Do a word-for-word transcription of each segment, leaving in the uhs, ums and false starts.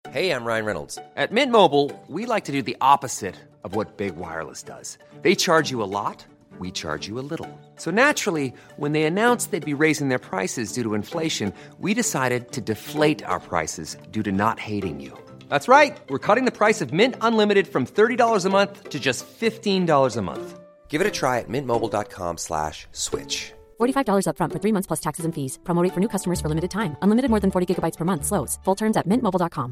Hey, I'm Ryan Reynolds. At Mint Mobile, we like to do the opposite of what Big Wireless does. They charge you a lot, we charge you a little. So naturally, when they announced they'd be raising their prices due to inflation, we decided to deflate our prices due to not hating you. That's right. We're cutting the price of Mint Unlimited from thirty dollars a month to just fifteen dollars a month. Give it a try at mintmobile.com slash switch. forty-five dollars up front for three months plus taxes and fees. Promo rate for new customers for limited time. Unlimited more than forty gigabytes per month. Slows full terms at mint mobile dot com.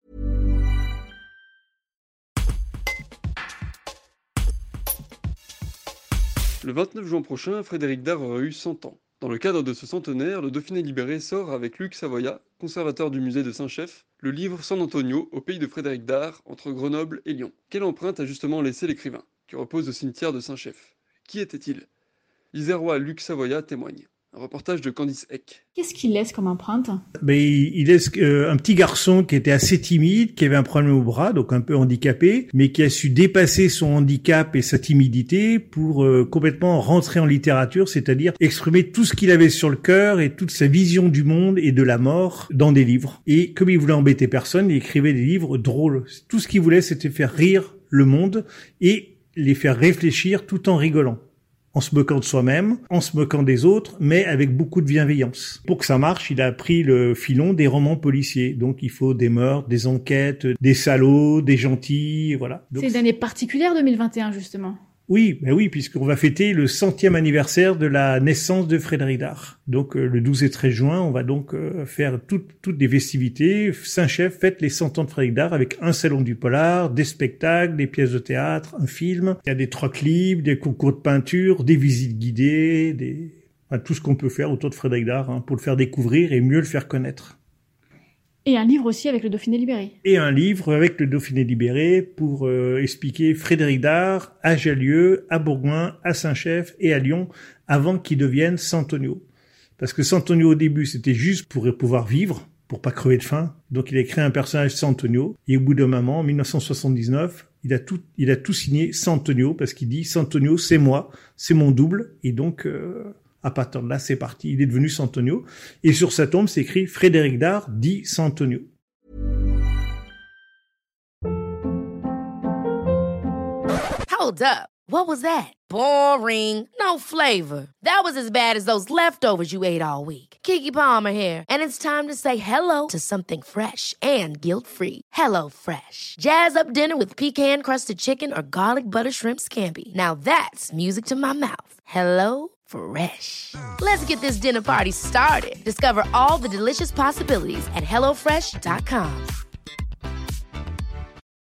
Le vingt-neuf juin prochain, Frédéric Dard aura eu cent ans. Dans le cadre de ce centenaire, le Dauphiné Libéré sort avec Luc Savoya, conservateur du musée de Saint-Chef, le livre San Antonio, au pays de Frédéric Dard, entre Grenoble et Lyon. Quelle empreinte a justement laissé l'écrivain, qui repose au cimetière de Saint-Chef? Qui était-il? L'Isérois Luc Savoya témoigne. Un reportage de Candice Eck. Qu'est-ce qu'il laisse comme empreinte? Ben, il laisse euh, un petit garçon qui était assez timide, qui avait un problème au bras, donc un peu handicapé, mais qui a su dépasser son handicap et sa timidité pour euh, complètement rentrer en littérature, c'est-à-dire exprimer tout ce qu'il avait sur le cœur et toute sa vision du monde et de la mort dans des livres. Et comme il voulait embêter personne, il écrivait des livres drôles. Tout ce qu'il voulait, c'était faire rire le monde et les faire réfléchir tout en rigolant. En se moquant de soi-même, en se moquant des autres, mais avec beaucoup de bienveillance. Pour que ça marche, il a pris le filon des romans policiers. Donc il faut des meurtres, des enquêtes, des salauds, des gentils, voilà. Donc, c'est une année particulière deux mille vingt et un, justement. Oui, ben oui, puisqu'on va fêter le centième anniversaire de la naissance de Frédéric Dard. Donc euh, le douze et treize juin, on va donc euh, faire toutes toutes des festivités. Saint-Chef fête les cent ans de Frédéric Dard avec un salon du polar, des spectacles, des pièces de théâtre, un film. Il y a des troc libres, des concours de peinture, des visites guidées, des enfin, tout ce qu'on peut faire autour de Frédéric Dard hein, pour le faire découvrir et mieux le faire connaître. Et un livre aussi avec le Dauphiné Libéré. Et un livre avec le Dauphiné Libéré pour euh, expliquer Frédéric Dard à Jallieu, à Bourgoin, à Saint-Chef et à Lyon avant qu'il devienne Santonio. Parce que Santonio au début c'était juste pour pouvoir vivre, pour pas crever de faim. Donc il a créé un personnage Santonio et au bout d'un moment, en dix-neuf cent soixante-dix-neuf, il a tout, il a tout signé Santonio parce qu'il dit Santonio c'est moi, c'est mon double et donc... Euh, à partir de là, c'est parti. Il est devenu Santonio. Et sur sa tombe, c'est écrit Frédéric Dard dit Santonio. Hold up. What was that? Boring. No flavor. That was as bad as those leftovers you ate all week. Keke Palmer here. And it's time to say hello to something fresh and guilt-free. Hello Fresh. Jazz up dinner with pecan-crusted chicken or garlic butter shrimp scampi. Now that's music to my mouth. Hello Fresh. Let's get this dinner party started. Discover all the delicious possibilities at hello fresh dot com.